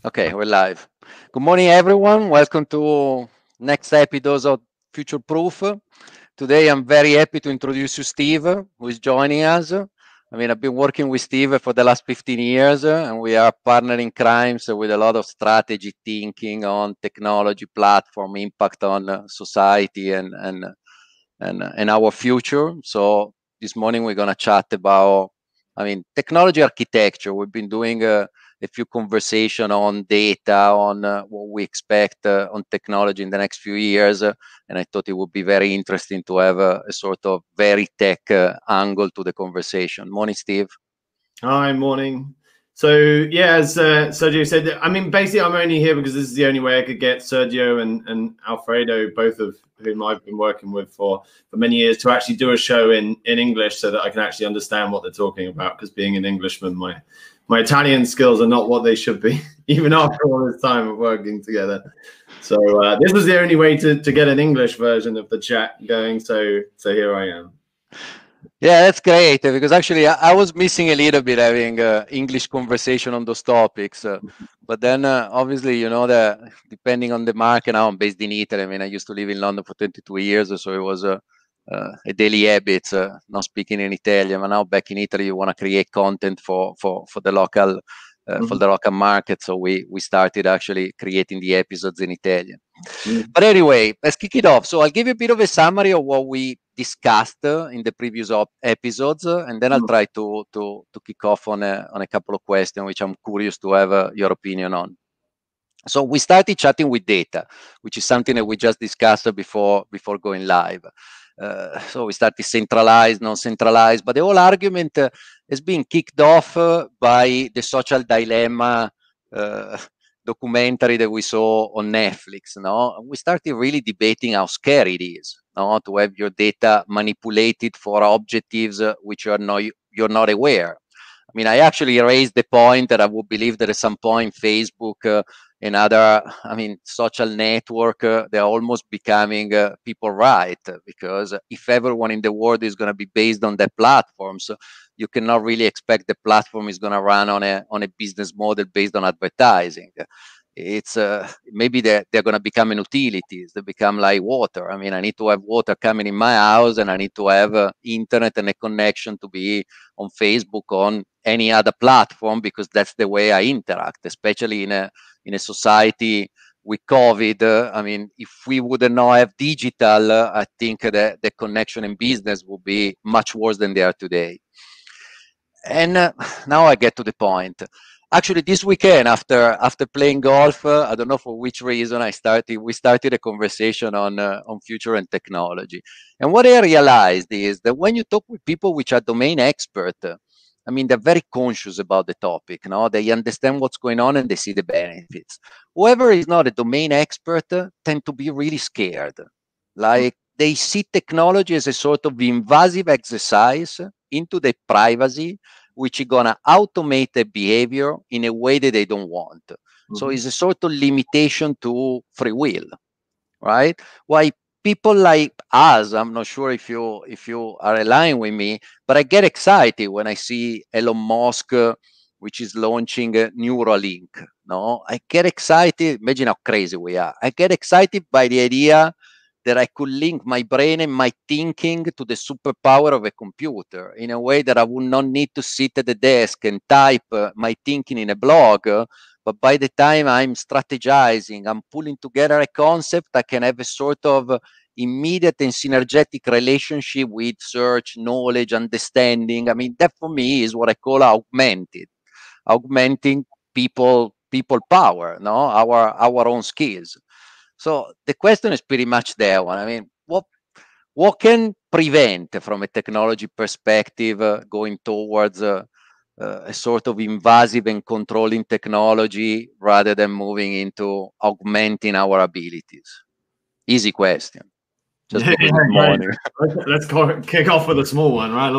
Okay, we're live. Good morning, everyone. Welcome to next episode of Future Proof. Today, I'm very happy to introduce you Steve, who is joining us. I mean, I've been working with Steve for the last 15 years, and we are partnering crimes with a lot of strategy thinking on technology, platform, impact on society, and our future. So this morning we're gonna chat about, I mean, technology architecture. We've been doing a few conversation on data, on what we expect on technology in the next few years, and I thought it would be very interesting to have a sort of very tech angle to the conversation. Morning, Steve. Hi, morning. So yeah, as Sergio said, I mean, basically, I'm only here because this is the only way I could get Sergio and Alfredo, both of whom I've been working with for many years, to actually do a show in English so that I can actually understand what they're talking about. Because being an Englishman, my Italian skills are not what they should be, even after all this time of working together. So this was the only way to get an English version of the chat going. So here I am. Yeah, that's great because actually I was missing a little bit having English conversation on those topics. But then obviously, you know, that depending on the market, now I'm based in Italy. I mean, I used to live in London for 22 years, so it was a daily habit not speaking in Italian. But now back in Italy, you want to create content for the local. For the local market, so we started actually creating the episodes in Italian. But anyway, let's kick it off. So I'll give you a bit of a summary of what we discussed in the previous episodes, and then I'll try to kick off on a couple of questions which I'm curious to have your opinion on. So we started chatting with data, which is something that we just discussed before going live. So we started centralized, non-centralized, but the whole argument has been kicked off by the social dilemma documentary that we saw on Netflix. No, we started really debating how scary it is, no, to have your data manipulated for objectives which you're not aware. I mean, I actually raised the point that I would believe that at some point Facebook and other, I mean, social network, they're almost becoming people right, because if everyone in the world is going to be based on their platforms, you cannot really expect the platform is going to run on a business model based on advertising. It's maybe they're going to become utilities. They become like water. I mean, I need to have water coming in my house, and I need to have internet and a connection to be on Facebook, on any other platform, because that's the way I interact, especially in a society with COVID. I mean, if we would not have digital, I think that the connection in business would be much worse than they are today. And now I get to the point. Actually, this weekend, after playing golf, I don't know for which reason, we started a conversation on future and technology. And what I realized is that when you talk with people which are domain expert, I mean, they're very conscious about the topic. No, they understand what's going on and they see the benefits. Whoever is not a domain expert tend to be really scared. Like, they see technology as a sort of invasive exercise into their privacy, which is going to automate the behavior in a way that they don't want. So it's a sort of limitation to free will, right? Why people like us, I'm not sure if you are aligned with me, but I get excited when I see Elon Musk, which is launching Neuralink. No, I get excited. Imagine how crazy we are. I get excited by the idea that I could link my brain and my thinking to the superpower of a computer in a way that I would not need to sit at the desk and type my thinking in a blog. But by the time I'm strategizing, I'm pulling together a concept, I can have a sort of immediate and synergetic relationship with search, knowledge, understanding. I mean, that for me is what I call augmenting people power, no, our own skills. So the question is pretty much that one. I mean, what can prevent, from a technology perspective, going towards a sort of invasive and controlling technology rather than moving into augmenting our abilities? Easy question. Just Yeah, because it's great. morning. Let's kick off with a small one, right?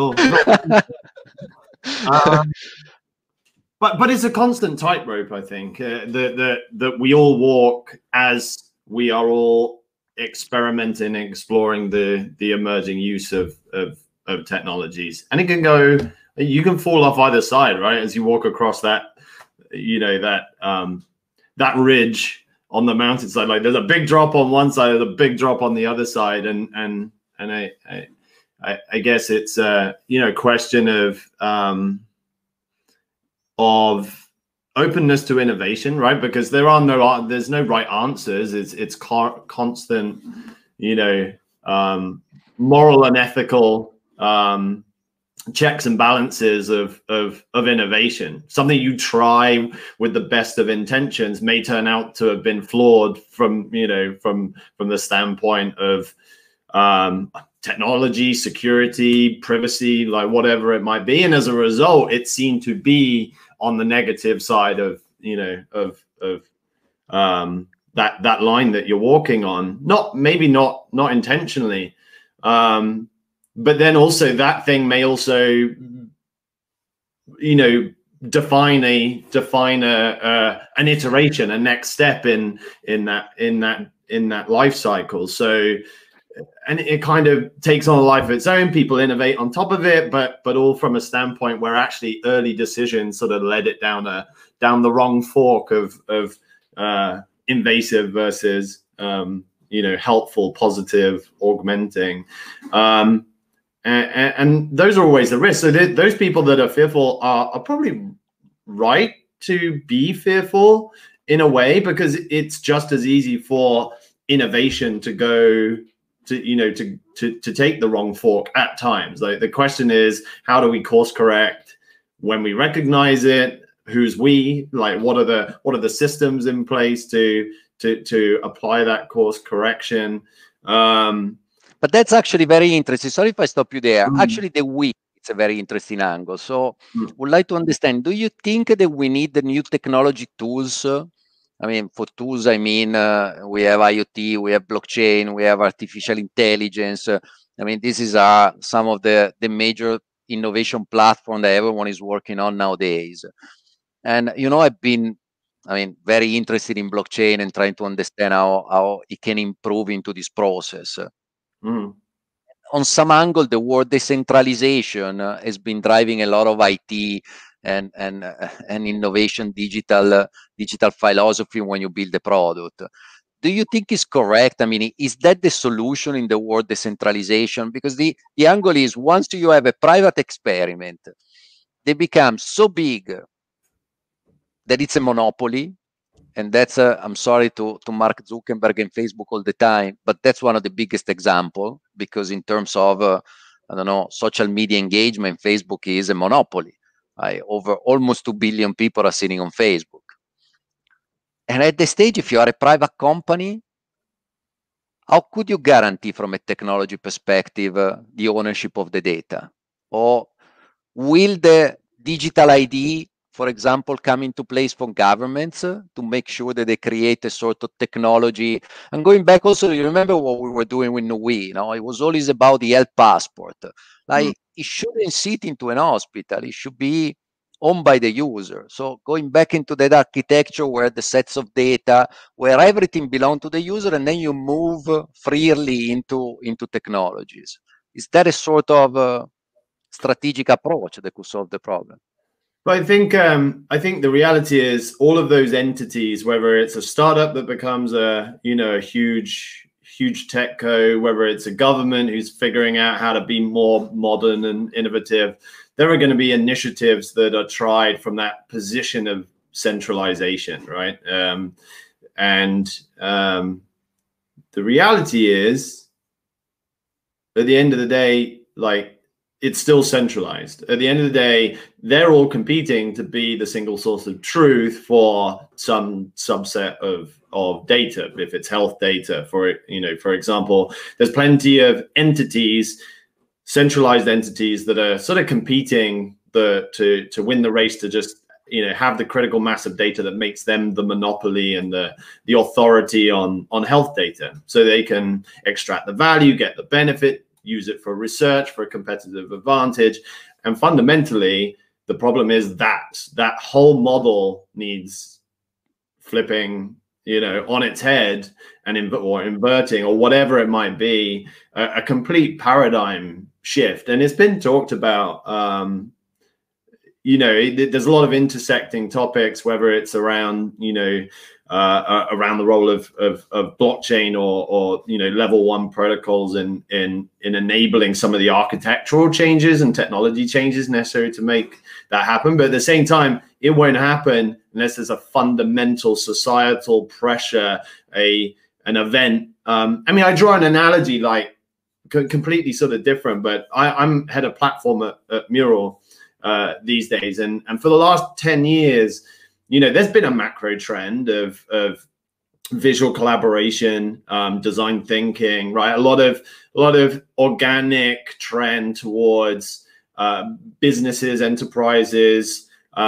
Um, but it's a constant tightrope, I think, that we all walk as we are all experimenting and exploring the emerging use of technologies, and it can go. You can fall off either side, right? As you walk across that, that ridge on the mountainside. Like there's a big drop on one side, there's a big drop on the other side, and I guess it's a question of openness to innovation, right? Because there's no right answers. It's constant, moral and ethical checks and balances of innovation. Something you try with the best of intentions may turn out to have been flawed from the standpoint of technology, security, privacy, like whatever it might be. And as a result, it's seen to be on the negative side of that line that you're walking on. Not intentionally. But then also that thing may also, define an iteration, a next step in that life cycle. So, and it kind of takes on a life of its own. People innovate on top of it, but all from a standpoint where actually early decisions sort of led it down the wrong fork of invasive versus helpful, positive, augmenting. And those are always the risks. So those people that are fearful are probably right to be fearful in a way, because it's just as easy for innovation to go to take the wrong fork at times. Like the question is, how do we course correct when we recognize it? Who's we? Like what are the systems in place to apply that course correction? But that's actually very interesting. Sorry if I stop you there. Actually, the we, it's a very interesting angle. So would like to understand, do you think that we need the new technology tools? I mean, for tools, I mean, we have IoT, we have blockchain, we have artificial intelligence. I mean, this is some of the major innovation platform that everyone is working on nowadays. And, I've been, very interested in blockchain and trying to understand how it can improve into this process. On some angle, the word decentralization has been driving a lot of IT and innovation, digital philosophy when you build a product. Do you think it's correct? I mean, is that the solution in the word decentralization? Because the angle is, once you have a private experiment, they become so big that it's a monopoly. And that's I'm sorry to Mark Zuckerberg and Facebook all the time, but that's one of the biggest example, because in terms of social media engagement, Facebook is a monopoly. Over almost 2 billion people are sitting on Facebook. And at the stage, if you are a private company, how could you guarantee from a technology perspective the ownership of the data? Or will the digital ID, for example, come into place for governments to make sure that they create a sort of technology? And going back also, you remember what we were doing with Nui? It was always about the health passport. Like it shouldn't sit into an hospital. It should be owned by the user. So going back into that architecture where the sets of data, where everything belongs to the user, and then you move freely into technologies. Is that a sort of strategic approach that could solve the problem? But I think the reality is all of those entities, whether it's a startup that becomes a huge tech co, whether it's a government who's figuring out how to be more modern and innovative, there are going to be initiatives that are tried from that position of centralization, right? And the reality is, at the end of the day, like, it's still centralized. At the end of the day, they're all competing to be the single source of truth for some subset of data. If it's health data, for example, there's plenty of entities, centralized entities, that are sort of competing to win the race to just have the critical mass of data that makes them the monopoly and the authority on health data, so they can extract the value, get the benefit, use it for research, for a competitive advantage. And fundamentally, the problem is that whole model needs flipping, on its head or inverting, or whatever it might be, a complete paradigm shift. And it's been talked about, you know, there's a lot of intersecting topics, whether it's around, you know, around the role of blockchain or you know, level 1 protocols in enabling some of the architectural changes and technology changes necessary to make that happen. But at the same time, it won't happen unless there's a fundamental societal pressure, an event. I mean, I draw an analogy like completely sort of different, but I'm head of platform at Mural these days, and for the last 10 years, you know, there's been a macro trend of visual collaboration, design thinking, right? A lot of organic trend towards businesses, enterprises,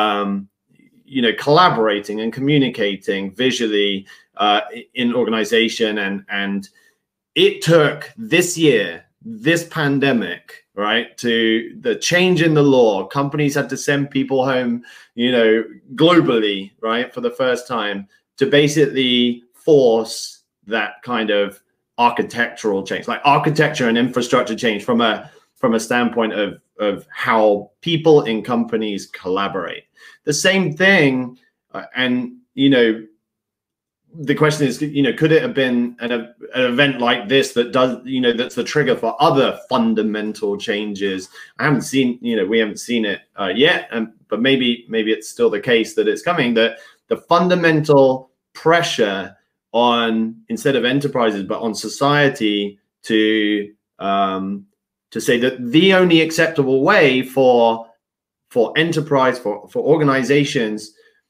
you know, collaborating and communicating visually in organization, and it took this year, this pandemic, right, to the change in the law. Companies had to send people home, you know, globally, right, for the first time, to basically force that kind of architectural change, like architecture and infrastructure change from a standpoint of how people in companies collaborate. The same thing, and you know, the question is, you know, could it have been an event like this that does, you know, that's the trigger for other fundamental changes? I haven't seen, you know, we haven't seen it yet, but maybe it's still the case that it's coming, that the fundamental pressure on, instead of enterprises, but on society to say that the only acceptable way for enterprise, for organizations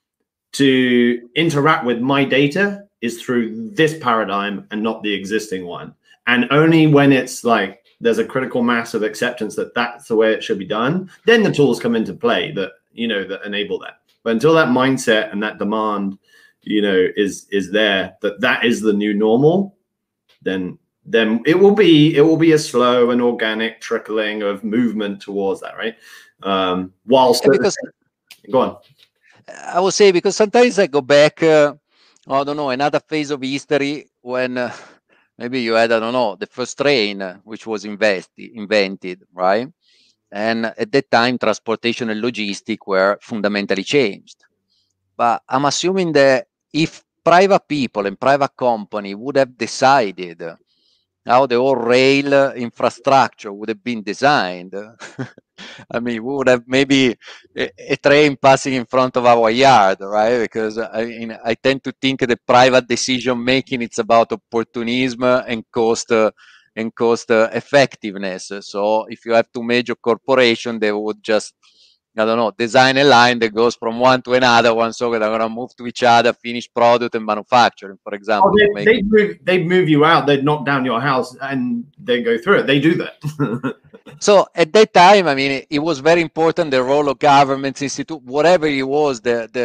to interact with my data is through this paradigm and not the existing one. And only when it's like there's a critical mass of acceptance that that's the way it should be done, then the tools come into play that, you know, that enable that. But until that mindset and that demand, you know, is there, that is the new normal, then it will be a slow and organic trickling of movement towards that, right? Whilst go on. I would say, because sometimes I go back, I don't know, another phase of history when maybe you had, I don't know, the first train, which was invented, right? And at that time, transportation and logistics were fundamentally changed. But I'm assuming that if private people and private company would have decided how the whole rail infrastructure would have been designed, I mean, we would have maybe a train passing in front of our yard, right? Because I tend to think that private decision making, it's about opportunism and cost effectiveness. So if you have two major corporations, they would just, I don't know, design a line that goes from one to another one, so they're gonna move to each other, finish product and manufacturing, for example. Oh, they'd move you out, they'd knock down your house and they go through it. They do that. So at that time, I mean, it was very important, the role of governments, institute, whatever it was,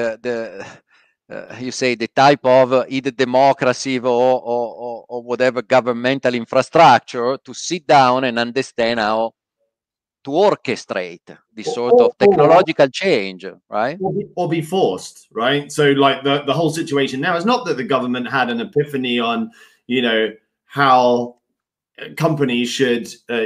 you say the type of either democracy or whatever governmental infrastructure, to sit down and understand how to orchestrate this sort of technological change, right? Or be forced, right? So like the whole situation now is not that the government had an epiphany on, you know, how companies should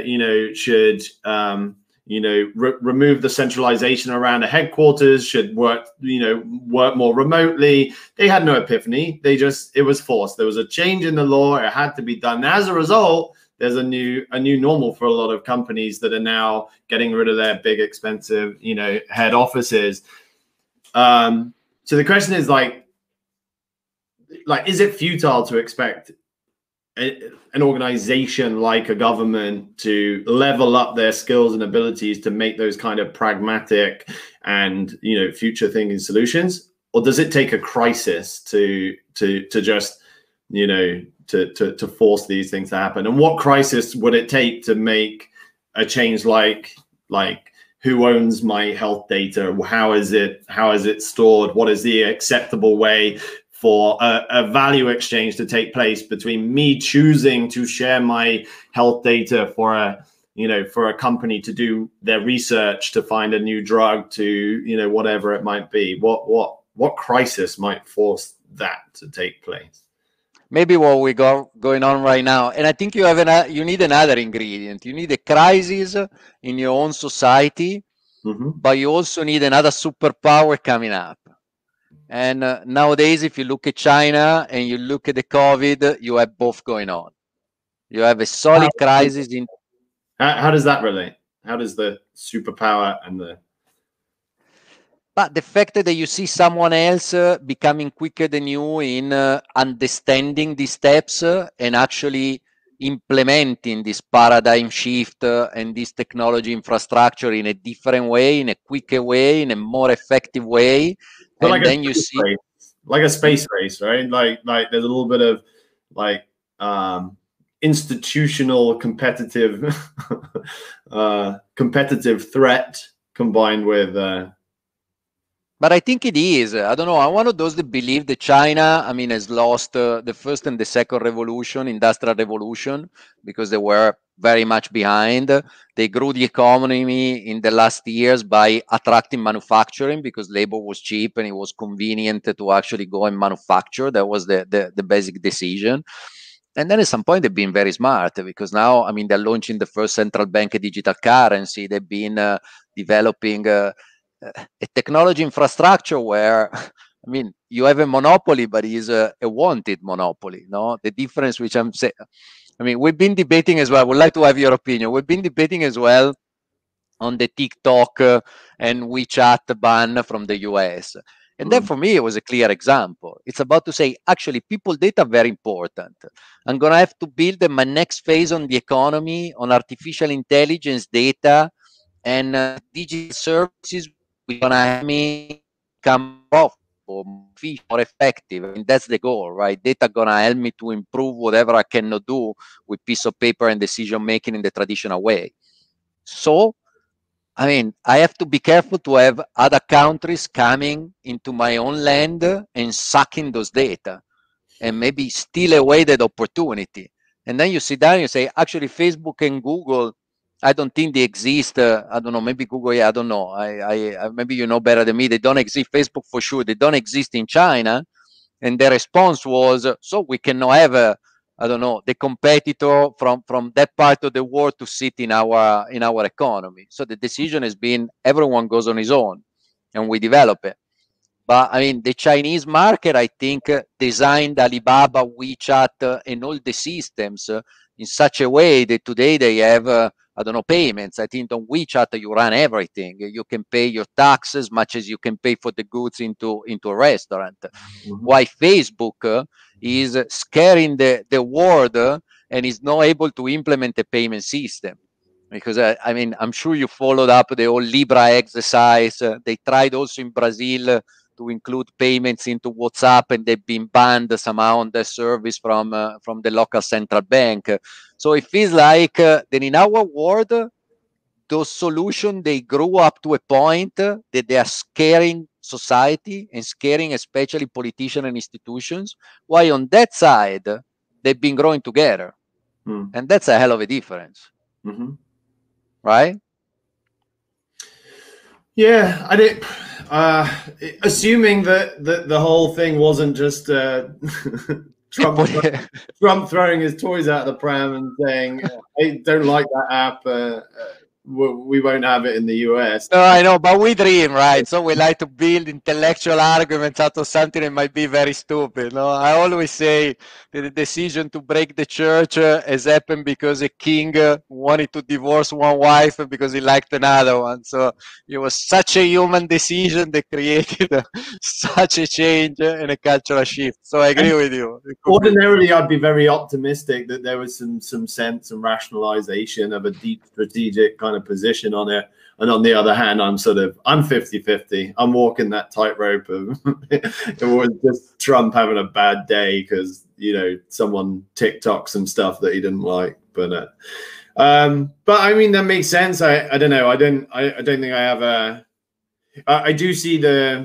remove the centralization around a headquarters, should work more remotely. They had no epiphany. It was forced. There was a change in the law. It had to be done. As a result, there's a new normal for a lot of companies that are now getting rid of their big, expensive, you know, head offices. So the question is like, is it futile to expect an organization like a government to level up their skills and abilities to make those kind of pragmatic and, you know, future thinking solutions? Or does it take a crisis to just, you know, to force these things to happen? And what crisis would it take to make a change like who owns my health data? How is it stored? What is the acceptable way for a value exchange to take place between me choosing to share my health data for a company to do their research to find a new drug, to, you know, whatever it might be? What crisis might force that to take place? Maybe what we got going on right now, and I think you need another ingredient. You need a crisis in your own society but you also need another superpower coming up. And nowadays, if you look at China and you look at the COVID, you have both going on. You have a solid crisis in. How does that relate? How does the superpower and the... But the fact that you see someone else becoming quicker than you in understanding these steps and actually implementing this paradigm shift and this technology infrastructure in a different way, in a quicker way, in a more effective way. But and then you see like a space race, right? Like there's a little bit of like institutional competitive threat combined with but I think it is. I don't know. I'm one of those that believe that China, I mean, has lost the first and the second revolution, industrial revolution, because they were very much behind. They grew the economy in the last years by attracting manufacturing because labor was cheap and it was convenient to actually go and manufacture. That was the basic decision. And then at some point, they've been very smart because now, I mean, they're launching the first central bank digital currency. They've been developing a technology infrastructure where, I mean, you have a monopoly, but it's a wanted monopoly. No, the difference which I'm saying, I mean, we've been debating as well. I would like to have your opinion. We've been debating as well on the TikTok and WeChat ban from the US. And then for me, it was a clear example. It's about to say, actually, people data are very important. I'm going to have to build my next phase on the economy, on artificial intelligence data, and digital services. We're going to have me become profitable, more effective. I mean, that's the goal, right? Data going to help me to improve whatever I cannot do with piece of paper and decision making in the traditional way. So, I mean, I have to be careful to have other countries coming into my own land and sucking those data and maybe steal away that opportunity. And then you sit down and you say, actually, Facebook and Google, I don't think they exist. I don't know, maybe Google, yeah, I don't know. I maybe you know better than me. They don't exist. Facebook for sure. They don't exist in China. And the response was, so we cannot have I don't know, the competitor from that part of the world to sit in our economy. So the decision has been everyone goes on his own, and we develop it. But I mean, the Chinese market, I think, designed Alibaba, WeChat, and all the systems in such a way that today they have, I don't know, payments. I think on WeChat you run everything. You can pay your taxes as much as you can pay for the goods into a restaurant. Why Facebook is scaring the world and is not able to implement a payment system. Because I mean, I'm sure you followed up the whole Libra exercise. They tried also in Brazil to include payments into WhatsApp, and they've been banned somehow on the service from the local central bank. So it feels like that in our world, those solutions, they grew up to a point that they are scaring society and scaring especially politicians and institutions, while on that side, they've been growing together. And that's a hell of a difference. Right? Yeah, I did. Assuming that the whole thing wasn't just Trump throwing his toys out of the pram and saying, "I don't like that app. We won't have it in the US." No, I know, but we dream, right? So we like to build intellectual arguments out of something that might be very stupid. No, I always say that the decision to break the church has happened because a king wanted to divorce one wife because he liked another one. So it was such a human decision that created such a change and a cultural shift. So I agree with you. Ordinarily, I'd be very optimistic that there was some sense and rationalization of a deep strategic kind of position on it. And on the other hand, I'm 50-50. I'm walking that tightrope of it was just Trump having a bad day because, you know, someone TikToked some stuff that he didn't like. But I mean, that makes sense. I don't know. I don't think I have a. I do see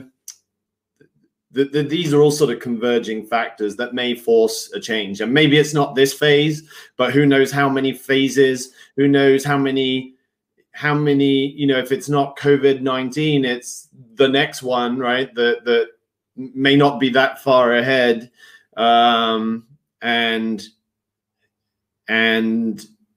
these are all sort of converging factors that may force a change. And maybe it's not this phase, but who knows how many phases, who knows how many, you know, if it's not COVID-19, it's the next one, right? That may not be that far ahead. And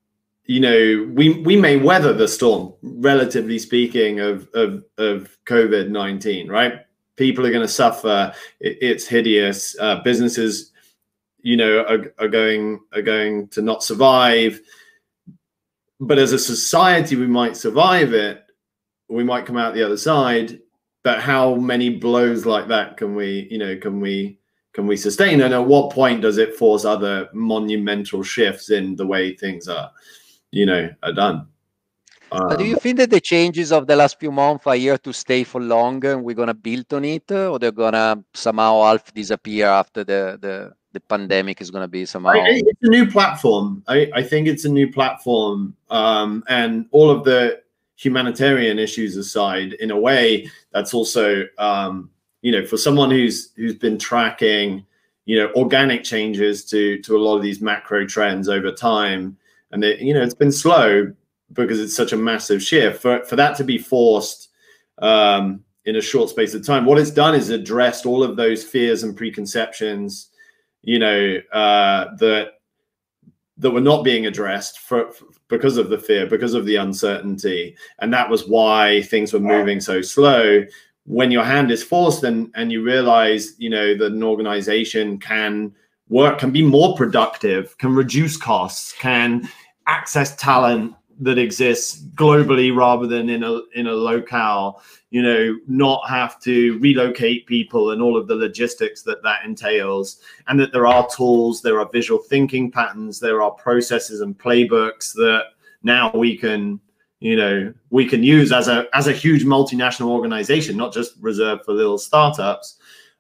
you know, we may weather the storm, relatively speaking, of COVID-19, right? People are going to suffer. It's hideous. Businesses, you know, are going to not survive. But as a society, we might survive it. We might come out the other side. But how many blows like that can we, you know, can we sustain? And at what point does it force other monumental shifts in the way things are, you know, are done? But do you think that the changes of the last few months are here to stay for longer and we're going to build on it, or they're going to somehow half disappear after the pandemic is going to be somehow? It's a new platform. I think it's a new platform. And all of the humanitarian issues aside, in a way, that's also, you know, for someone who's been tracking, you know, organic changes to a lot of these macro trends over time. And, you know, it's been slow, because it's such a massive shift. For that to be forced in a short space of time, what it's done is addressed all of those fears and preconceptions, you know, that were not being addressed because of the fear, because of the uncertainty. And that was why things were moving so slow. When your hand is forced and you realize, you know, that an organization can be more productive, can reduce costs, can access talent that exists globally rather than in a locale, you know, not have to relocate people and all of the logistics that entails, and that there are tools, there are visual thinking patterns, there are processes and playbooks that now we can, you know, we can use as a huge multinational organization, not just reserved for little startups.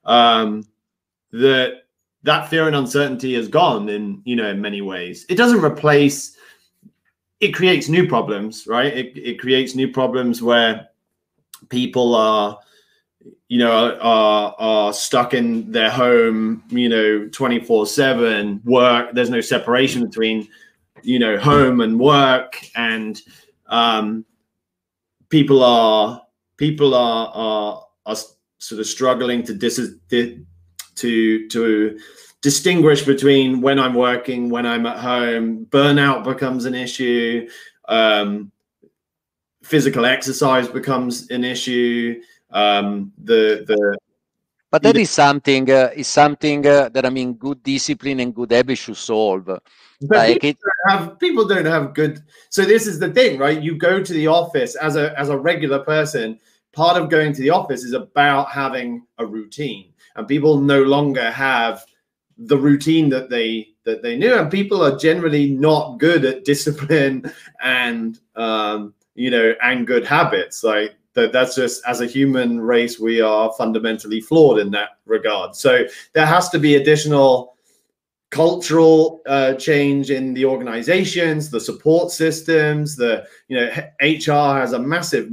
That fear and uncertainty is gone in, you know, in many ways. It doesn't replace. It creates new problems, right? It creates new problems where people are, you know, are stuck in their home, you know, 24/7. Work. There's no separation between, you know, home and work, and people are sort of struggling to distinguish between when I'm working, when I'm at home. Burnout becomes an issue. Physical exercise becomes an issue. But that is something that, I mean, good discipline and good habits should solve. But like people don't have good. So this is the thing, right? You go to the office as a regular person. Part of going to the office is about having a routine, and people no longer have the routine that they knew, and people are generally not good at discipline and you know, and good habits. Like that's just, as a human race, we are fundamentally flawed in that regard. So there has to be additional cultural change in the organizations, the support systems. The, you know, HR has a massive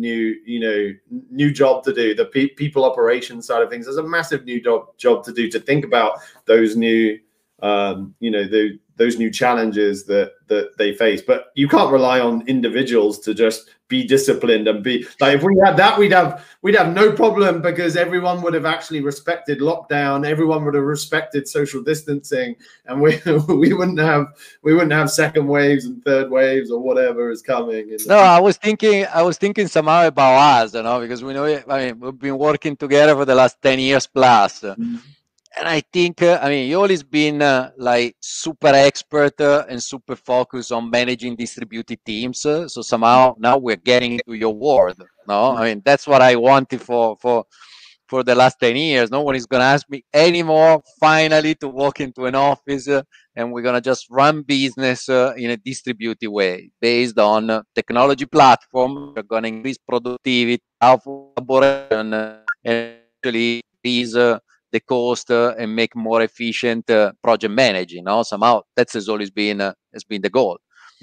new job to do. The people operations side of things has a massive new job to do, to think about those new you know, those new challenges that they face. But you can't rely on individuals to just be disciplined and be like, if we had that, we'd have no problem, because everyone would have actually respected lockdown, everyone would have respected social distancing, and we wouldn't have second waves and third waves or whatever is coming. No, I was thinking somehow about us, you know, because we know, I mean, we've been working together for the last 10 years plus. And I think, I mean, you always been like super expert and super focused on managing distributed teams. So somehow now we're getting into your world. No, I mean, that's what I wanted for the last 10 years. No one is going to ask me anymore, finally, to walk into an office and we're going to just run business in a distributed way based on technology platform. We're going to increase productivity, collaboration, and actually increase the cost and make more efficient project managing. No, somehow that has always been the goal.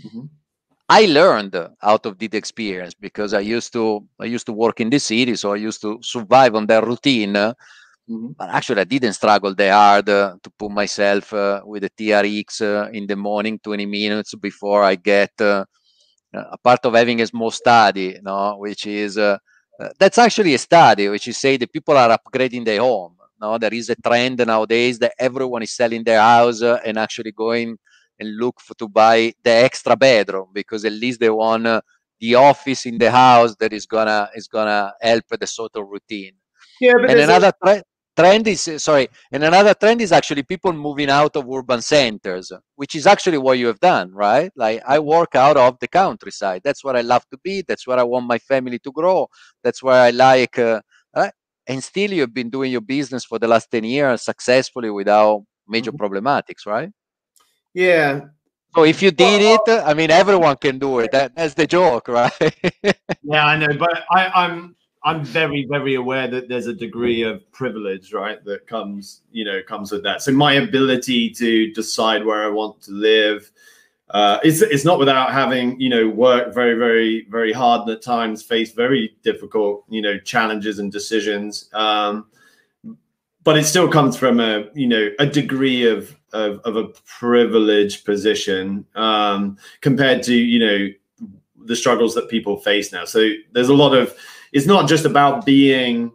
I learned out of this experience, because I used to work in the city, so I used to survive on that routine. But actually, I didn't struggle that hard to put myself with the TRX in the morning, 20 minutes before I get a part of having a small study, no, which is that's actually a study which is say that people are upgrading their home. No, there is a trend nowadays that everyone is selling their house and actually going and look to buy the extra bedroom, because at least they want the office in the house that is gonna help the sort of routine. Yeah, but And there's another trend is and another trend is actually people moving out of urban centers, which is actually what you have done, right? Like, I work out of the countryside. That's where I love to be. That's where I want my family to grow. That's where I like. And still, you've been doing your business for the last 10 years successfully without major problematics, right? yeah. So if you did Well, it, I mean, everyone can do it. That's the joke, right? yeah, I know, but I'm very, very aware that there's a degree of privilege, right, that comes with that. So my ability to decide where I want to live, it's not without having worked very, very, very hard and at times faced very difficult challenges and decisions. But it still comes from a degree of a privileged position compared to the struggles that people face now. So there's a lot of, it's not just about being,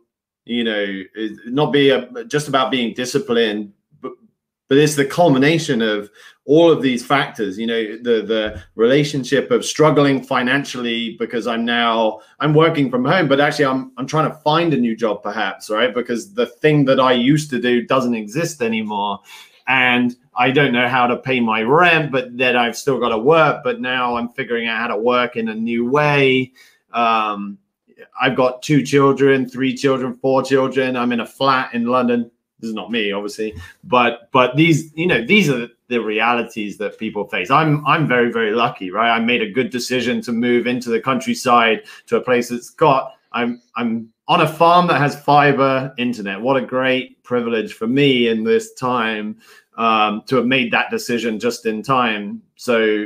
just about being disciplined, but it's the culmination of all of these factors, the relationship of struggling financially because I'm working from home, but actually I'm trying to find a new job perhaps, right? Because the thing that I used to do doesn't exist anymore. And I don't know how to pay my rent, but then I've still got to work. But now I'm figuring out how to work in a new way. I've got 2 children, 3 children, 4 children. I'm in a flat in London. This is not me, obviously, but these are the realities that people face. I'm very, very lucky, right? I made a good decision to move into the countryside to a place that's got. I'm on a farm that has fiber internet. What a great privilege for me in this time to have made that decision just in time. So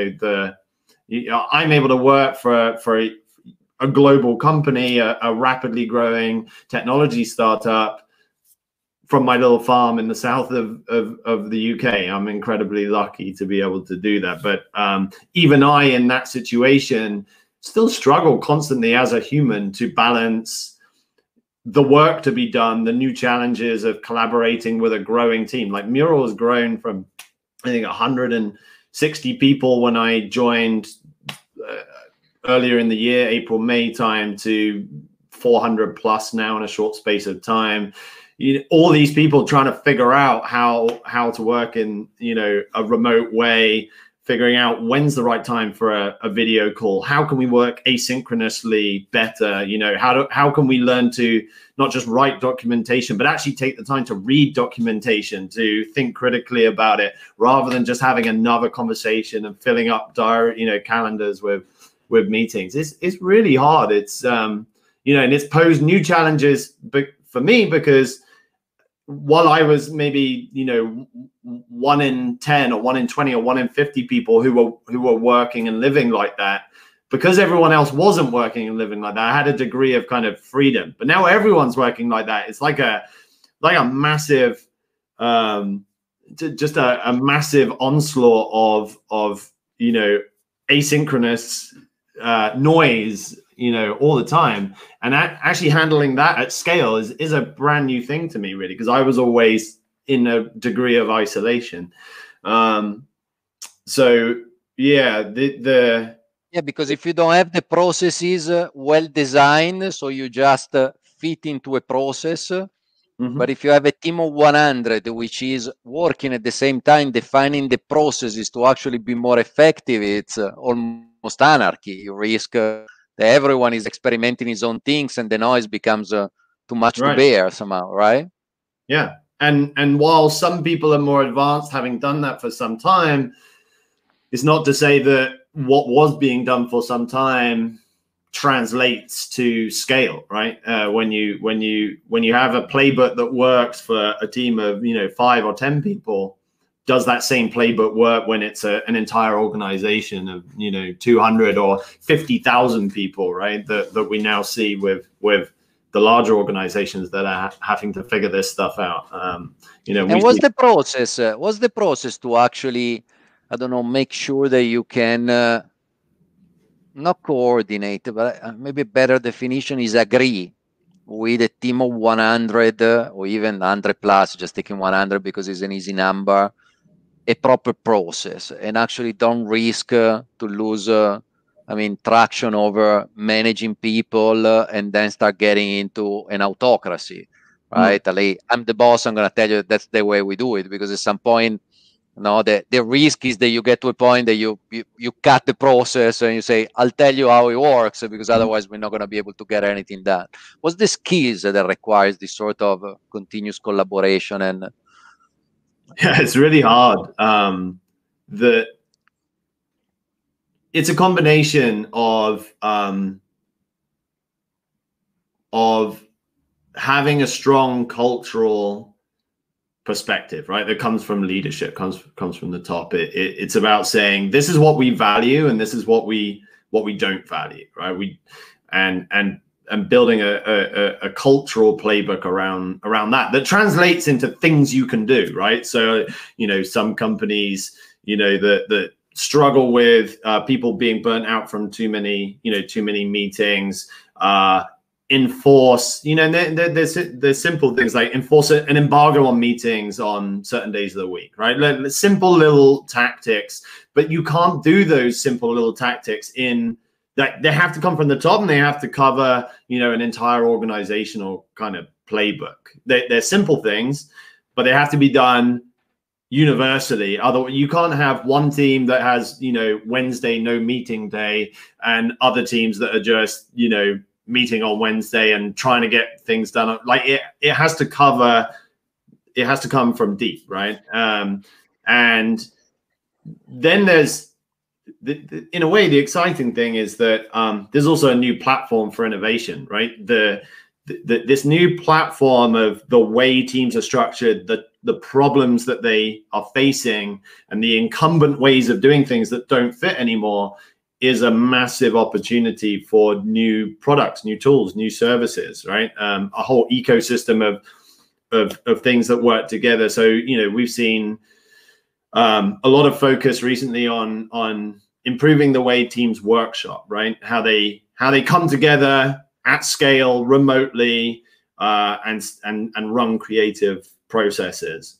I'm able to work for a global company, a rapidly growing technology startup from my little farm in the south of the UK. I'm incredibly lucky to be able to do that. But even I, in that situation, still struggle constantly as a human to balance the work to be done, the new challenges of collaborating with a growing team. Like Mural has grown from, I think, 160 people when I joined earlier in the year, April, May time, to 400 plus now in a short space of time. All these people trying to figure out how to work in a remote way, figuring out when's the right time for a video call. How can we work asynchronously better? How can we learn to not just write documentation, but actually take the time to read documentation, to think critically about it, rather than just having another conversation and filling up calendars with meetings. It's really hard. It's and it's posed new challenges for me, because while I was maybe 1 in 10 or 1 in 20 or 1 in 50 people who were working and living like that, because everyone else wasn't working and living like that, I had a degree of kind of freedom. But now everyone's working like that. It's like a massive just a massive onslaught of asynchronous noise all the time, and actually handling that at scale is a brand new thing to me, really, because I was always in a degree of isolation. So yeah, because if you don't have the processes well designed, so you just fit into a process. But if you have a team of 100 which is working at the same time, defining the processes to actually be more effective, it's almost anarchy. You risk that everyone is experimenting his own things, and the noise becomes too much to bear somehow, right? Yeah, and while some people are more advanced, having done that for some time, it's not to say that what was being done for some time translates to scale, right? When you have a playbook that works for a team of 5 or 10 people, does that same playbook work when it's an entire organization of 200 or 50,000 people, right? That we now see with the larger organizations that are having to figure this stuff out. And what's the process? What's the process to actually, I don't know, make sure that you can not coordinate, but maybe a better definition is agree with a team of 100 or even 100 plus, just taking 100 because it's an easy number, a proper process and actually don't risk to lose traction over managing people and then start getting into an autocracy, right? Like, I'm the boss, I'm going to tell you that's the way we do it, because at some point, the risk is that you get to a point that you cut the process and you say, I'll tell you how it works, because otherwise we're not going to be able to get anything done. What's the skills that requires this sort of continuous collaboration? And yeah, it's really hard. It's a combination of having a strong cultural perspective, right? That comes from leadership, comes from the top. It's about saying, this is what we value and this is what we don't value, right? And building a cultural playbook around that translates into things you can do, right? So, some companies, that struggle with people being burnt out from too many meetings, enforce, there's simple things like enforce an embargo on meetings on certain days of the week, right? Simple little tactics, but you can't do those simple little tactics that they have to come from the top, and they have to cover, an entire organizational kind of playbook. They're simple things, but they have to be done universally. Otherwise, you can't have one team that has, Wednesday no meeting day, and other teams that are just, meeting on Wednesday and trying to get things done. Like it has to cover. It has to come from deep, right? And then there's, in a way, the exciting thing is that there's also a new platform for innovation, right? This new platform of the way teams are structured, the problems that they are facing, and the incumbent ways of doing things that don't fit anymore, is a massive opportunity for new products, new tools, new services, right? A whole ecosystem of things that work together. So, we've seen a lot of focus recently on improving the way teams workshop, right? How they come together at scale, remotely, and run creative processes.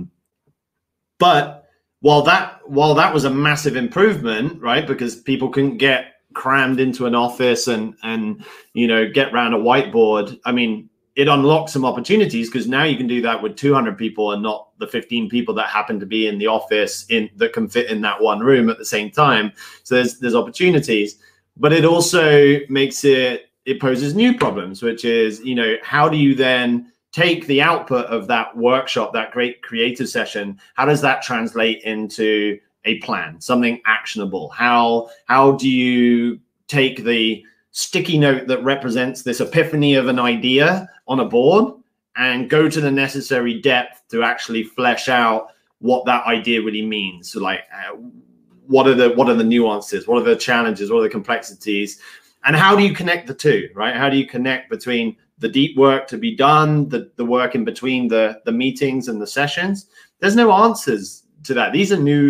But while that was a massive improvement, right? Because people couldn't get crammed into an office and get around a whiteboard. I mean, it unlocks some opportunities, because now you can do that with 200 people and not the 15 people that happen to be in the office that can fit in that one room at the same time. So there's opportunities, but it also makes it poses new problems, which is, how do you then take the output of that workshop, that great creative session? How does that translate into a plan, something actionable? How do you take the sticky note that represents this epiphany of an idea on a board and go to the necessary depth to actually flesh out what that idea really means? So, like, what are the nuances? What are the challenges? What are the complexities? And how do you connect the two, right? How do you connect between the deep work to be done, the work in between the meetings and the sessions? There's no answers to that. These are new.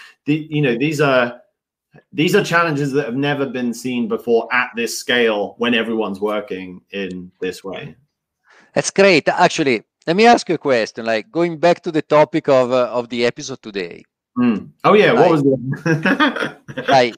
These are challenges that have never been seen before at this scale, when everyone's working in this way. That's great. Actually, let me ask you a question. Like, going back to the topic of the episode today. Oh yeah, what was it?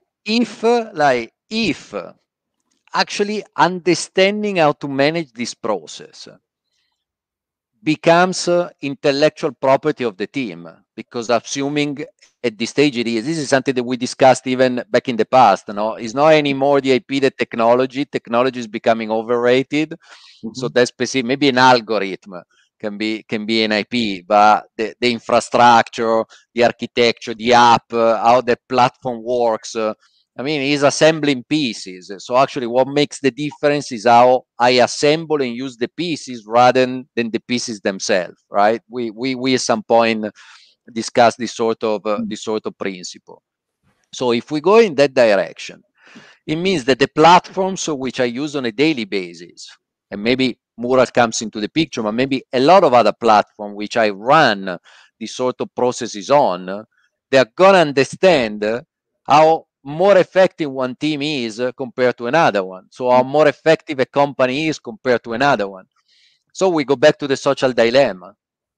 if actually understanding how to manage this process becomes intellectual property of the team, because assuming at this stage this is something that we discussed even back in the past. It's not anymore the IP, the technology is becoming overrated. So that's specific. Maybe an algorithm can be an IP, but the infrastructure, the architecture, the app, how the platform works, is assembling pieces. So actually what makes the difference is how I assemble and use the pieces rather than the pieces themselves, right? We at some point discuss this sort of principle. So if we go in that direction, it means that the platforms which I use on a daily basis, and maybe Mural comes into the picture, but maybe a lot of other platforms which I run these sort of processes on, they're going to understand how more effective one team is compared to another one. So how more effective a company is compared to another one. So we go back to the social dilemma.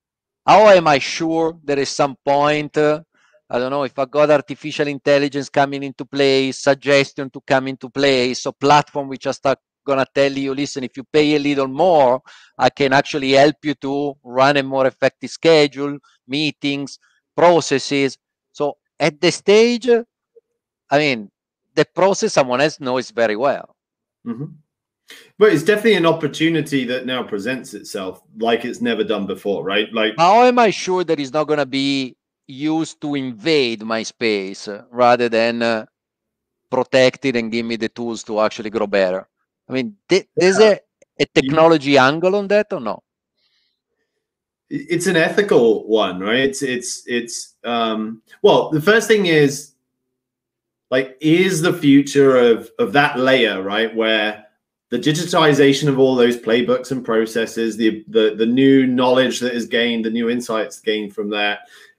How am I sure that at some point, I don't know, if I got artificial intelligence coming into play, suggestion to come into play, so platform which are start gonna tell you, listen, if you pay a little more, I can actually help you to run a more effective schedule, meetings, processes. So at the stage, I mean, the process someone else knows very well. Mm-hmm. But it's definitely an opportunity that now presents itself like it's never done before, right? Like, how am I sure that it's not going to be used to invade my space rather than protect it and give me the tools to actually grow better? I mean, there's a technology angle on that or no? It's an ethical one, right? Well, the first thing is, like, is the future of that layer, right, where the digitization of all those playbooks and processes, the new knowledge that is gained, the new insights gained from that,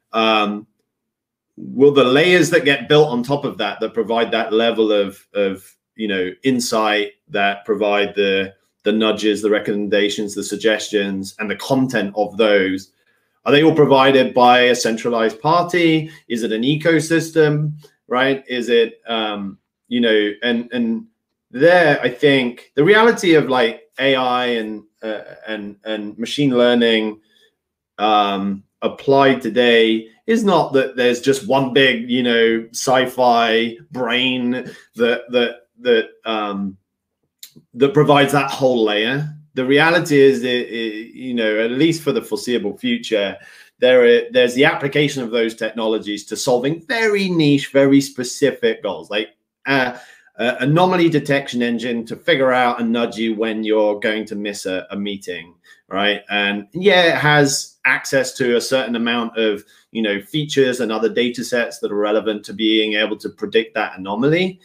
will the layers that get built on top of that provide that level of insight, that provide the nudges, the recommendations, the suggestions, and the content of those, are they all provided by a centralized party? Is it an ecosystem, right? Is it and there, I think the reality of like AI and machine learning applied today is not that there's just one big sci-fi brain that provides that whole layer. The reality is that, at least for the foreseeable future, there's the application of those technologies to solving very niche, very specific goals, like anomaly detection engine to figure out and nudge you when you're going to miss a meeting, right? And yeah, it has access to a certain amount of features and other data sets that are relevant to being able to predict that anomaly,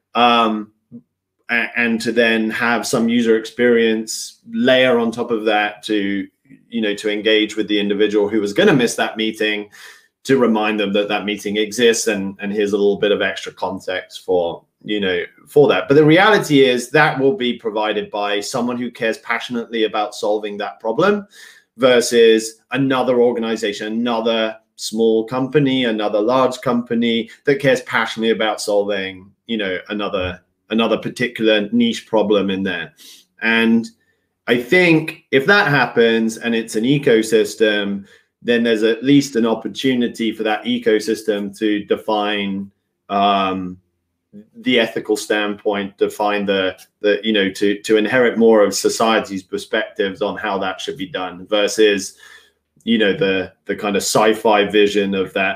and to then have some user experience layer on top of that to engage with the individual who was going to miss that meeting, to remind them that meeting exists, and here's a little bit of extra context for that. But the reality is that will be provided by someone who cares passionately about solving that problem, versus another organization, another small company, another large company that cares passionately about solving another particular niche problem in there. And I think if that happens and it's an ecosystem, then there's at least an opportunity for that ecosystem to define the ethical standpoint, define to inherit more of society's perspectives on how that should be done, versus the kind of sci-fi vision of that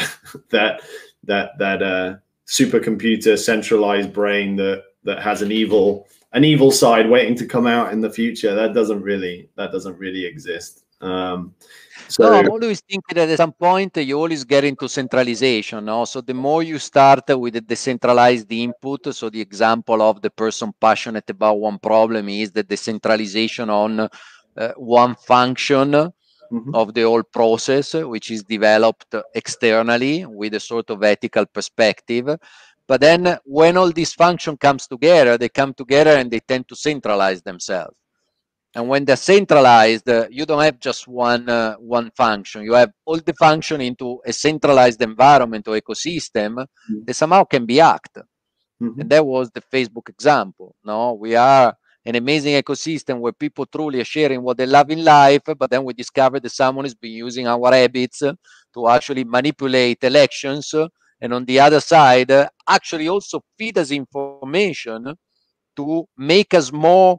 supercomputer centralized brain that has an evil side waiting to come out in the future. That doesn't really exist. So I'm always thinking that at some point you always get into centralization. No? So the more you start with a decentralized input, so the example of the person passionate about one problem is the decentralization on one function of the whole process, which is developed externally with a sort of ethical perspective. But then when all these functions comes together, they come together and they tend to centralize themselves. And when they're centralized, you don't have just one function. You have all the function into a centralized environment or ecosystem that somehow can be hacked. And that was the Facebook example. No, we are an amazing ecosystem where people truly are sharing what they love in life, but then we discover that someone has been using our habits to actually manipulate elections, and on the other side, actually also feed us information to make us more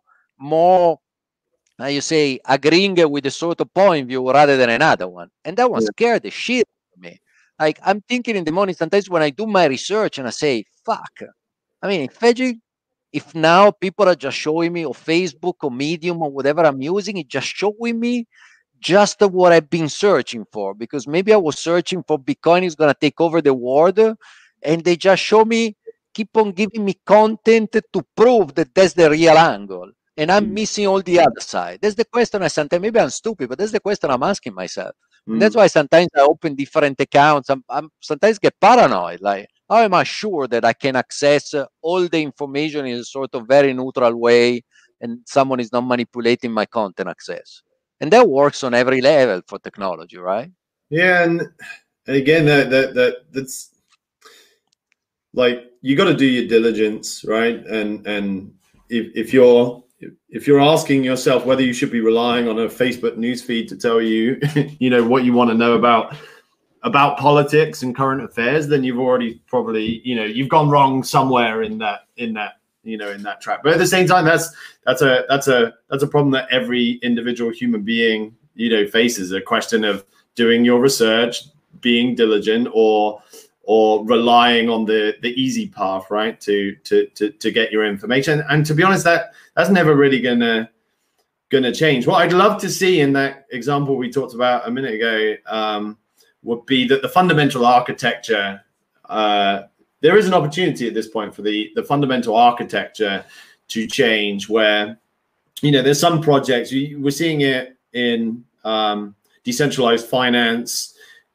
agreeing with a sort of point of view rather than another one. And that one scared the shit out of me. Like, I'm thinking in the morning sometimes when I do my research and I say, fuck. I mean, if now people are just showing me, or Facebook or Medium or whatever I'm using, it's just showing me just what I've been searching for. Because maybe I was searching for Bitcoin is going to take over the world, and they just keep on giving me content to prove that that's the real angle. And I'm missing all the other side. That's the question sometimes, maybe I'm stupid, but that's the question I'm asking myself. And that's why sometimes I open different accounts. I'm sometimes get paranoid. Like, how am I sure that I can access all the information in a sort of very neutral way and someone is not manipulating my content access? And that works on every level for technology, right? Yeah, and again, that's like, you got to do your diligence, right? And if you're asking yourself whether you should be relying on a Facebook newsfeed to tell you, you know, what you want to know about politics and current affairs, then you've already probably, you know, you've gone wrong somewhere in that you know, in that track. But at the same time, that's a problem that every individual human being, you know, faces. A question of doing your research, being diligent, or relying on the easy path, right, to get your information. And to be honest, that's never really gonna change. What I'd love to see in that example we talked about a minute ago would be that the fundamental architecture, there is an opportunity at this point for the fundamental architecture to change, where, you know, there's some projects, we're seeing it in decentralized finance,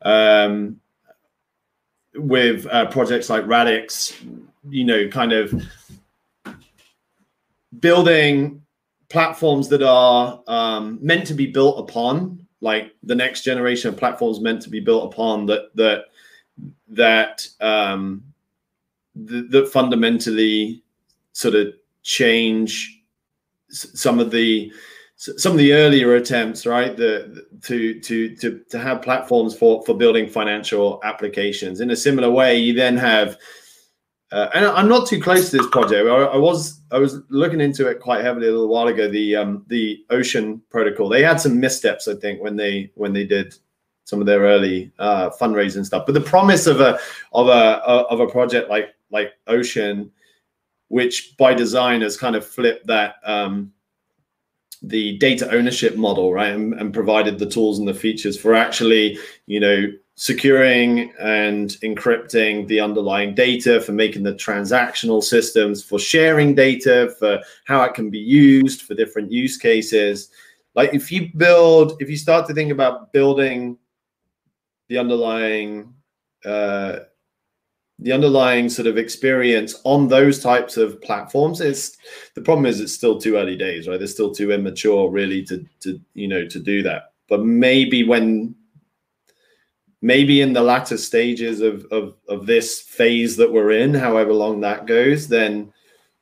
with projects like Radix, you know, kind of building platforms that are meant to be built upon, like the next generation of platforms meant to be built upon, that fundamentally sort of change some of the earlier attempts, right, to have platforms for building financial applications. In a similar way, you then have, and I'm not too close to this project. I was looking into it quite heavily a little while ago. The Ocean protocol, they had some missteps, I think, when they did some of their early fundraising stuff. But the promise of a project like Ocean, which by design has kind of flipped that the data ownership model, right, and provided the tools and the features for actually, you know, securing and encrypting the underlying data, for making the transactional systems, for sharing data, for how it can be used for different use cases. Like, if you start to think about building the underlying sort of experience on those types of platforms, the problem is it's still too early days, right? They're still too immature really to you know, to do that. But maybe in the latter stages of this phase that we're in, however long that goes, then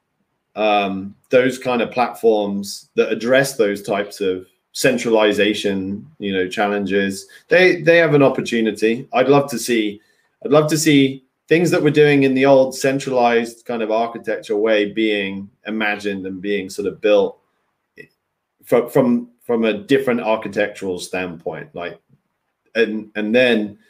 those kind of platforms that address those types of centralization, you know, challenges, they have an opportunity. I'd love to see things that we're doing in the old centralized kind of architecture way being imagined and being sort of built from a different architectural standpoint. Like, and then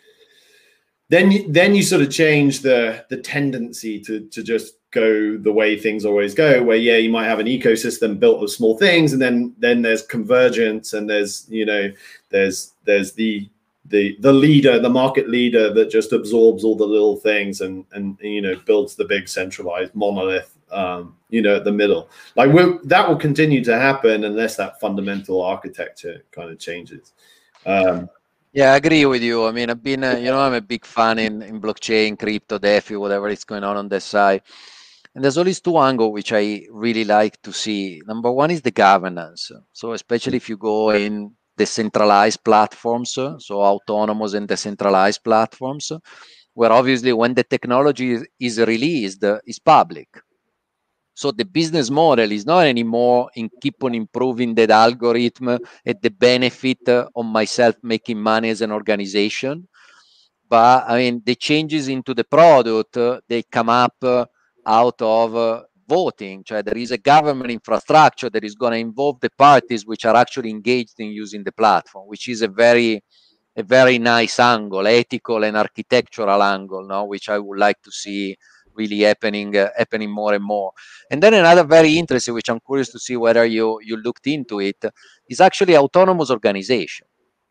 you sort of change the tendency to just go the way things always go, where, yeah, you might have an ecosystem built of small things, and then there's convergence, and there's, you know, there's the leader, the market leader, that just absorbs all the little things and you know, builds the big centralized monolith, you know, at the middle. Like, that will continue to happen unless that fundamental architecture kind of changes. Yeah, I agree with you. I mean, I've been, you know, I'm a big fan in blockchain, crypto, DeFi, whatever is going on that side. And there's always two angles which I really like to see. Number one is the governance. So especially if you go in decentralized platforms, so autonomous and decentralized platforms, where obviously when the technology is released, it's public. So the business model is not anymore in keep on improving that algorithm at the benefit of myself making money as an organization. But I mean, the changes into the product, they come up out of voting. So there is a government infrastructure that is going to involve the parties which are actually engaged in using the platform, which is a very nice angle, ethical and architectural angle, no, which I would like to see really happening more and more. And then another very interesting, which I'm curious to see whether you looked into it, is actually autonomous organization.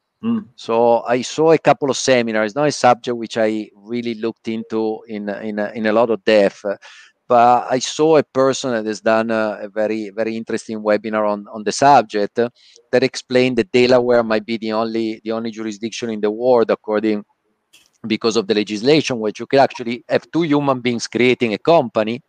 So I saw a couple of seminars, not a subject which I really looked into in a lot of depth, but I saw a person that has done a very interesting webinar on the subject that explained that Delaware might be the only jurisdiction in the world, because of the legislation, which you can actually have two human beings creating a company.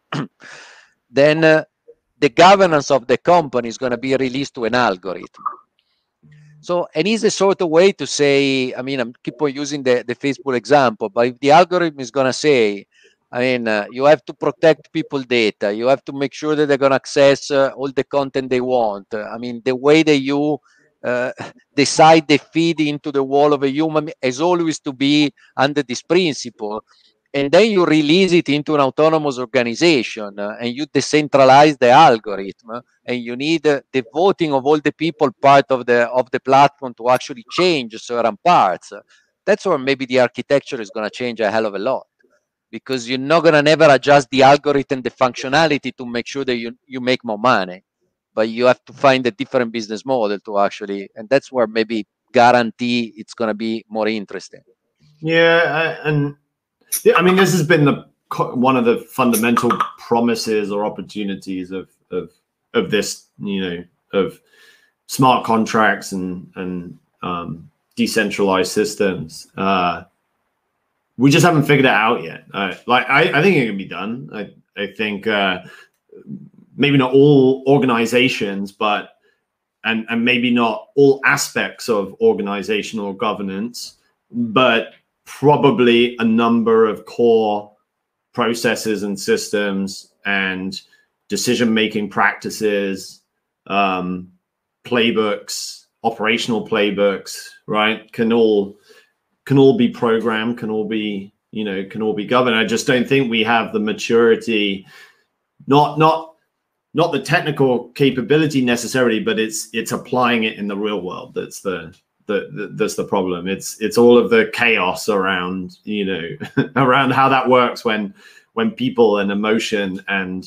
Then the governance of the company is going to be released to an algorithm. So, and it's a sort of way to say, I mean, I'm keep on using the Facebook example, but if the algorithm is going to say, I mean, you have to protect people data, you have to make sure that they're going to access all the content they want. I mean, the way that you uh, decide the feed into the wall of a human is always to be under this principle. And then you release it into an autonomous organization and you decentralize the algorithm, and you need the voting of all the people part of the platform to actually change certain parts. That's where maybe the architecture is going to change a hell of a lot, because you're not going to never adjust the algorithm, the functionality to make sure that you make more money, but you have to find a different business model to actually, and that's where maybe guarantee it's going to be more interesting. Yeah, and I mean, this has been one of the fundamental promises or opportunities of this, of smart contracts and decentralized systems. We just haven't figured it out yet. I think it can be done. I think maybe not all organizations, but and maybe not all aspects of organizational governance, but probably a number of core processes and systems and decision-making practices, playbooks, operational playbooks, right? Can all be programmed, can all be governed. I just don't think we have the maturity, not the technical capability necessarily, but it's applying it in the real world. That's the problem. It's all of the chaos around, around how that works when people and emotion and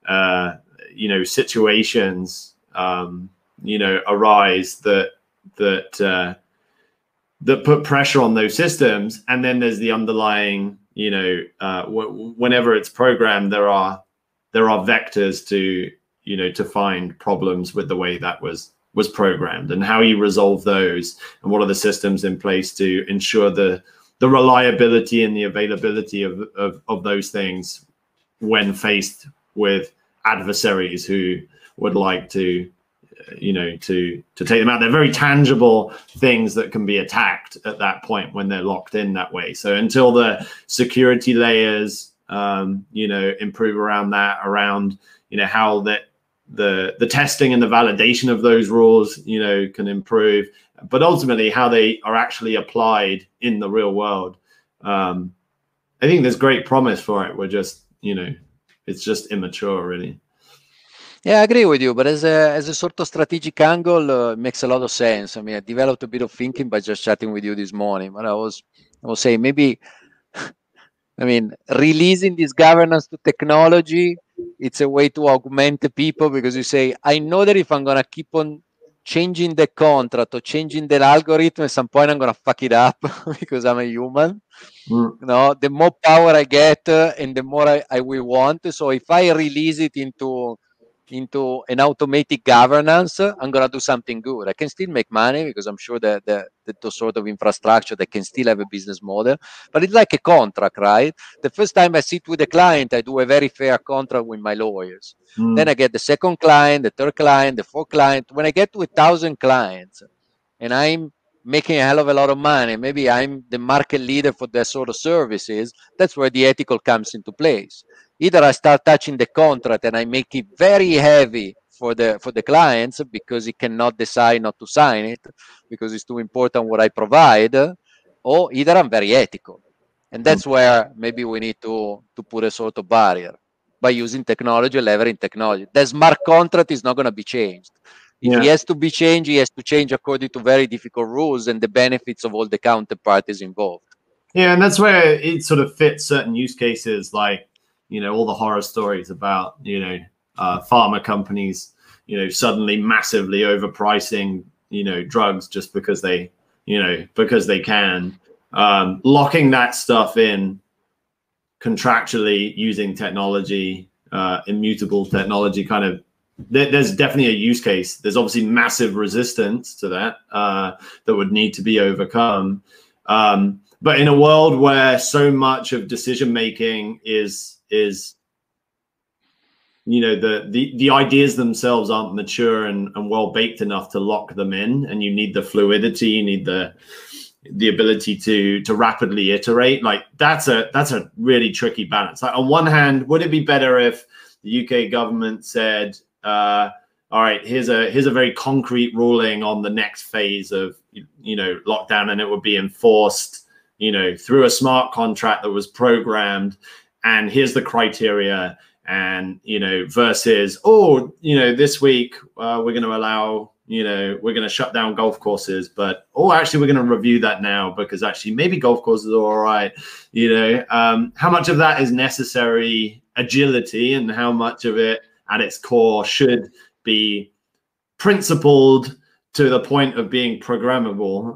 situations arise that put pressure on those systems. And then there's the underlying, whenever it's programmed, there are vectors to find problems with the way that was programmed, and how you resolve those, and what are the systems in place to ensure the reliability and the availability of those things when faced with adversaries who would like to take them out. They're very tangible things that can be attacked at that point when they're locked in that way. So until the security layers improve around that, around how the testing and the validation of those rules can improve, but ultimately how they are actually applied in the real world, I think there's great promise for it. We're just it's just immature, really. Yeah, I agree with you, but as a sort of strategic angle, it makes a lot of sense. I mean, I developed a bit of thinking by just chatting with you this morning, but I was saying maybe, I mean, releasing this governance to technology, it's a way to augment the people, because you say, I know that if I'm going to keep on changing the contract or changing the algorithm, at some point I'm going to fuck it up because I'm a human. The more power I get and the more I will want. So if I release it into an automatic governance, I'm going to do something good. I can still make money because I'm sure that the sort of infrastructure that can still have a business model, but it's like a contract, right? The first time I sit with a client, I do a very fair contract with my lawyers. Then I get the second client, the third client, the fourth client. When I get to 1,000 clients and I'm making a hell of a lot of money, maybe I'm the market leader for that sort of services, that's where the ethical comes into place. Either I start touching the contract and I make it very heavy for the clients because he cannot decide not to sign it because it's too important what I provide, or either I'm very ethical. And that's where maybe we need to put a sort of barrier by using technology, leveraging technology. The smart contract is not going to be changed. If he has to be changed, he has to change according to very difficult rules and the benefits of all the counterparties involved. Yeah, and that's where it sort of fits certain use cases, like all the horror stories about pharma companies suddenly massively overpricing drugs just because they can, locking that stuff in contractually using technology, immutable technology. Kind of there's definitely a use case. There's obviously massive resistance to that that would need to be overcome. But in a world where so much of decision making is you know, the ideas themselves aren't mature and well baked enough to lock them in, and you need the fluidity, you need the ability to rapidly iterate. Like that's a really tricky balance. Like on one hand, would it be better if the UK government said, all right, here's a very concrete ruling on the next phase of, you know, lockdown, and it would be enforced, you know, through a smart contract that was programmed, and here's the criteria, and, you know, versus, oh, you know, this week we're going to allow, you know, we're going to shut down golf courses, but, oh, actually, we're going to review that now because actually maybe golf courses are all right. You know, how much of that is necessary agility, and how much of it at its core should be principled to the point of being programmable?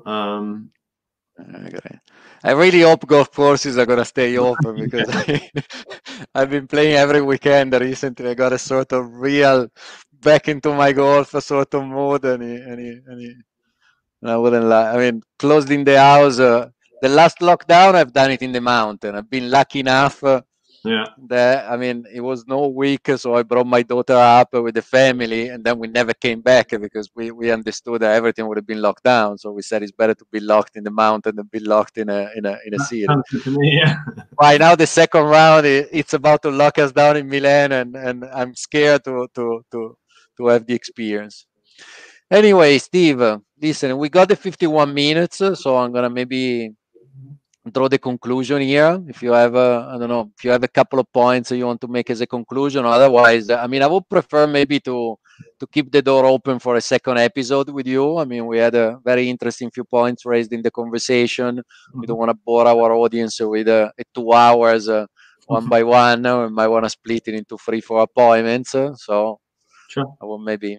I really hope golf courses are going to stay open because I've been playing every weekend recently. I got a sort of real back into my golf sort of mode, and I wouldn't lie. I mean, closed in the house. The last lockdown, I've done it in the mountain. I've been lucky enough. That, I mean, it was no week, so I brought my daughter up with the family, and then we never came back because we understood that everything would have been locked down. So we said it's better to be locked in the mountain than be locked in a city. Right now, the second round, it's about to lock us down in Milan, and I'm scared to have the experience. Anyway, Steve, listen, we got the 51 minutes, so I'm gonna maybe draw the conclusion here. If you have I don't know, if you have a couple of points you want to make as a conclusion. Otherwise, I mean, I would prefer maybe to keep the door open for a second episode with you. I mean, we had a very interesting few points raised in the conversation. We don't want to bore our audience with 2 hours one by one. We might want to split it into 3-4 appointments. So sure, I will maybe.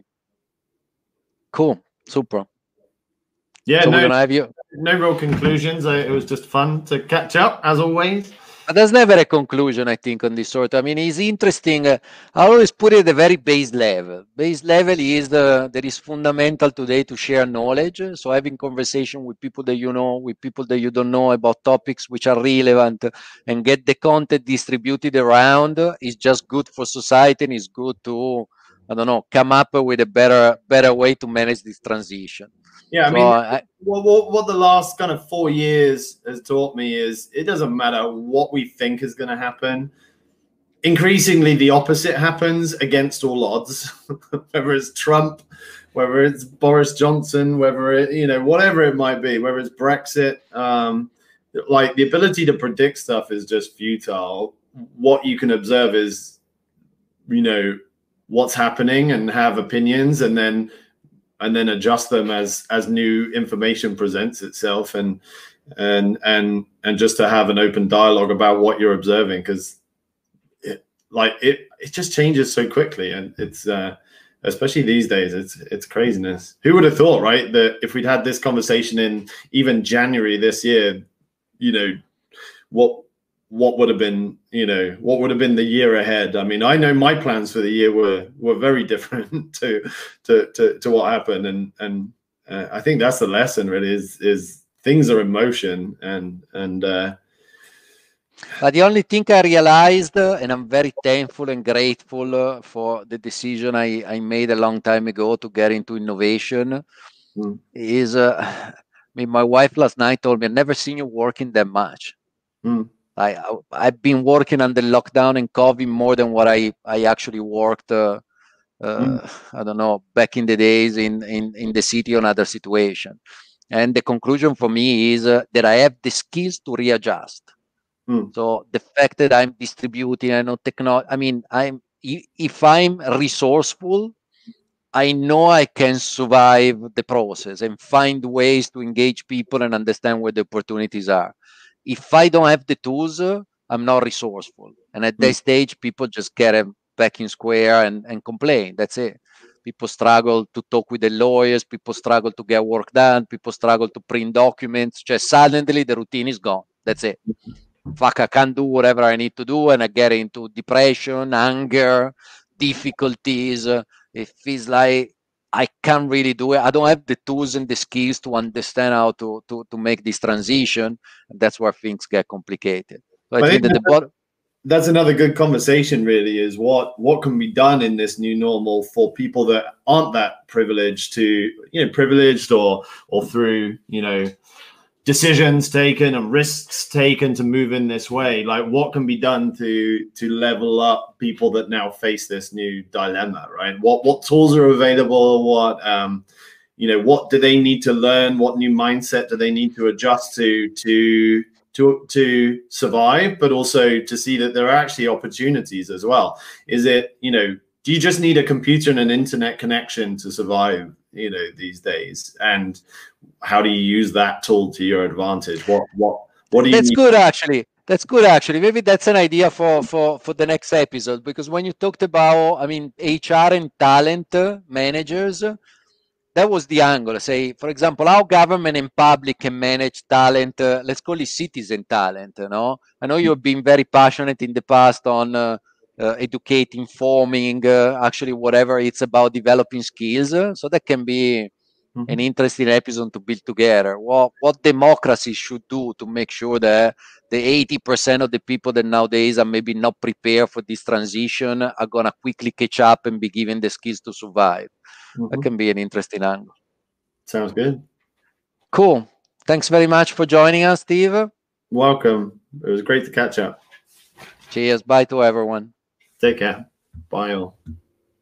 Cool, super. Yeah, so no, we're gonna have you. No real conclusions. It was just fun to catch up as always. But there's never a conclusion, I think, on this sort. I mean, it's interesting. I always put it at the very base level. Base level is that is fundamental today to share knowledge. So having conversation with people that you know, with people that you don't know about topics which are relevant, and get the content distributed around is just good for society, and is good to, I don't know, come up with a better way to manage this transition. Yeah, I mean, what the last kind of 4 years has taught me is it doesn't matter what we think is going to happen. Increasingly, the opposite happens against all odds, whether it's Trump, whether it's Boris Johnson, whether it, you know, whatever it might be, whether it's Brexit. Like the ability to predict stuff is just futile. What you can observe is, you know, what's happening and have opinions, and then adjust them as new information presents itself, and just to have an open dialogue about what you're observing, because it just changes so quickly, and it's especially these days, it's craziness. Who would have thought, right, that if we'd had this conversation in even January this year, you know, what would have been, you know, what would have been the year ahead? I mean, I know my plans for the year were very different to what happened, and I think that's the lesson, really, is things are in motion, and but the only thing I realized, and I'm very thankful and grateful for the decision I made a long time ago to get into innovation, is, I mean, my wife last night told me, I've never seen you working that much. I've been working under lockdown and COVID more than what I actually worked. I don't know, back in the days in the city or other situation. And the conclusion for me is that I have the skills to readjust. So the fact that I'm distributing, I know technology. I mean, if I'm resourceful, I know I can survive the process and find ways to engage people and understand where the opportunities are. If I don't have the tools, I'm not resourceful. And at that stage, people just get back in square and complain. That's it. People struggle to talk with the lawyers. People struggle to get work done. People struggle to print documents. Just suddenly the routine is gone. That's it. Fuck, I can't do whatever I need to do. And I get into depression, anger, difficulties. It feels like I can't really do it. I don't have the tools and the skills to understand how to make this transition. And that's where things get complicated. So I think that that's another good conversation, really, is what can be done in this new normal for people that aren't that privileged to, privileged or through, decisions taken and risks taken to move in this way. Like, what can be done to level up people that now face this new dilemma, right? What tools are available? What do they need to learn? What new mindset do they need to adjust to survive, but also to see that there are actually opportunities as well? Is it, do you just need a computer and an internet connection to survive, these days? And how do you use that tool to your advantage? What do you That's need? good, actually. That's good, actually. Maybe that's an idea for the next episode, because when you talked about, I mean, HR and talent managers, that was the angle. Say, for example, how government and public can manage talent. Let's call it citizen talent. I know you've been very passionate in the past on educating, forming, actually whatever it's about, developing skills. So that can be an interesting episode to build together. What democracy should do to make sure that the 80% of the people that nowadays are maybe not prepared for this transition are gonna quickly catch up and be given the skills to survive. That can be an interesting angle. Sounds good. Cool. Thanks very much for joining us, Steve. Welcome. It was great to catch up. Cheers. Bye to everyone. Take care. Bye all.